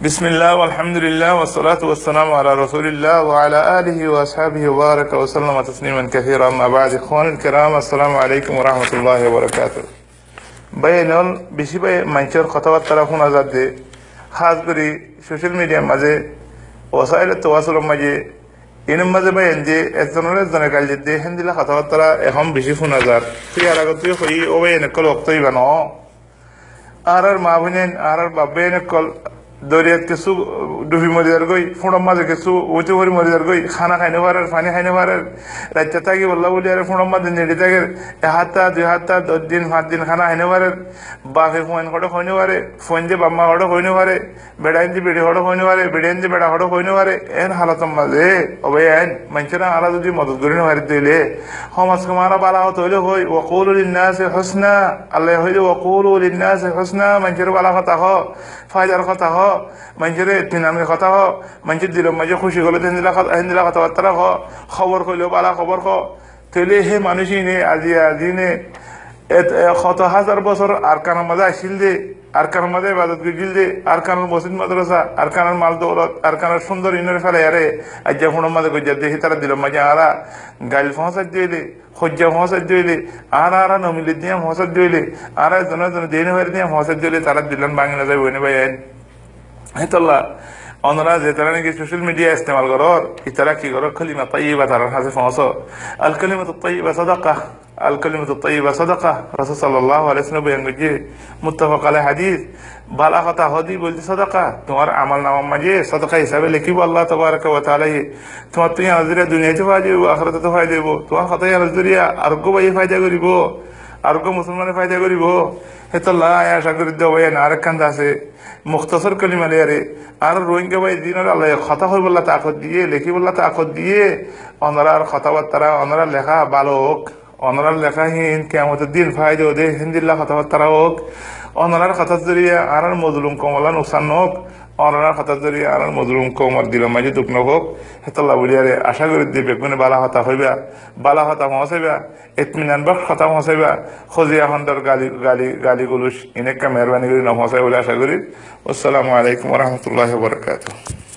بسم الله والحمد لله والصلاة والسلام على رسول الله وعلى آله وأصحابه وبارك وسلم تسليما كثيرا. أما بعد، إخواني الكرام، السلام عليكم ورحمة الله وبركاته. بينول بشي بي منشر خطوات تلفون أزاد خاص بري سوشيال ميديا مزه وسائل التواصل مزه إن مزه بين جي استنورة زنقال جدي هندي لا خطوات تلا أهم بشي فون أزاد في علاقة خوي أوه نقول وقتي بنو آرر مابنين آرر بابين نقول দরিয়াত কিছু ডুবি মরিদার গই ফুঁড়ম মাঝে কিছু উঁচু ভরি মরিদার গই খানা খাইনে পারার পানি খাইনে পারার রাজ্য থাকি বললা বলি আর ফুঁড়ম মাঝে নেড়ে থাকে 1 সপ্তাহ 2 সপ্তাহ 10 দিন 5 দিন খানা খাইনে পারার বাপে ফোন করে হইনে পারে ফোন যে বাম্মা হড় হইনে পারে বেড়াইন যে বেড়ে হড় হইনে পারে বেড়াইন যে বেড়া হড় হইনে পারে এন হালাত মাঝে অবে আইন মানুষেরা আলা যদি মদত করি না হারি দিলে সমাজ কুমারা বালা হত হইলে হই ওয়াকুলু লিন্নাসি হুসনা আল্লাহ হইলে ওয়াকুলু লিন্নাসি হুসনা মানুষের বালা কথা হ ফায়দার কথা হ মানুষের ইতমিনানের কথা হ মানুষের দিল মাঝে খুশি হলে হিন্দিলা কথাবার্তা হ খবর কইলেও বালা খবর হ তৈলে হে মানুষই নে আজি নে 1,000 বছর আরকানের মাঝে আসিল দে আরকানের মাঝে ইবাদত গিল দে আরকানের মসজিদ মাদ্রাসা আরকানের মাল দৌলত আরকানের সুন্দর ইনের ফেলে আরে আজ যখন মাঝে গজ্জা দেখি তারা দিল মাঝে আরা গাইল ফসাদ দিলে খজ্জা ফসাদ দিলে আরা নমিলে দিয়ে ফসাদ দিলে আরা জন দেনে হয়ে দিয়ে ফসাদ দিলে তারা দিলেন বাংলা যায় বইনে ভাই হেতল্লা অনরা যে তারা নাকি সোশ্যাল মিডিয়া ইস্তেমাল করর ইতারা কি করো কালিমা তাইয়্যিবা তার কাছে পৌঁছো আল কালিমাতু তাইয়্যিবা সাদাকা আল কালিমাতু তাইয়্যিবা সাদাকা রাসূল সাল্লাল্লাহু আলাইহি ওয়াসাল্লাম বলেন যে মুত্তাফাক আলাইহি হাদিস বালা কথা হদি বলতে সাদাকা তোমার আমল নামা মাঝে সাদাকা হিসাবে লিখিব আল্লাহ তাবারাকা ওয়া তাআলা তোমার তুই নজরিয়া দুনিয়াতে ফায়দা দিব আখিরাতে ফায়দা দিব তোমার কথা নজরিয়া আরগো ভাই ফায়দা করিব আরগো মুসলমানে ফায়দা করিব হেতল্লা আশা করি দেব আরেকখান আছে মুখতাসর কালিমা লিয়ারে আর রোহিঙ্গা ভাই দিনের আল্লাহ কথা হই বললা তাকত দিয়ে লেখি বললা তাকত দিয়ে অনরার কথাবার্তা অনরার লেখা ভালো হোক অনরার লেখাহীন কিয়ামতের দিন ফায়দা দে হিন্দিল্লা কথাবার্তা হোক অনরার কথা জরিয়া আর মজলুম কমলা নুকসান হোক অনরার কথা জরিয়া আর মজলুম কমর দিল মাঝে দুঃখ হোক হেতল্লা বলিয়ারে আশা করি দিবে কোনে বালা হতা হইবা বালা হতা পৌঁছাইবা ইতমিনান বক্স কথা পৌঁছাইবা খজিয়া খন্ডর গালি গুলুস ইনেকা মেহরবানি করে না পৌঁছাই বলে আশা করি। আসসালামু আলাইকুম ওয়া রাহমাতুল্লাহি ওয়া বারাকাতুহু।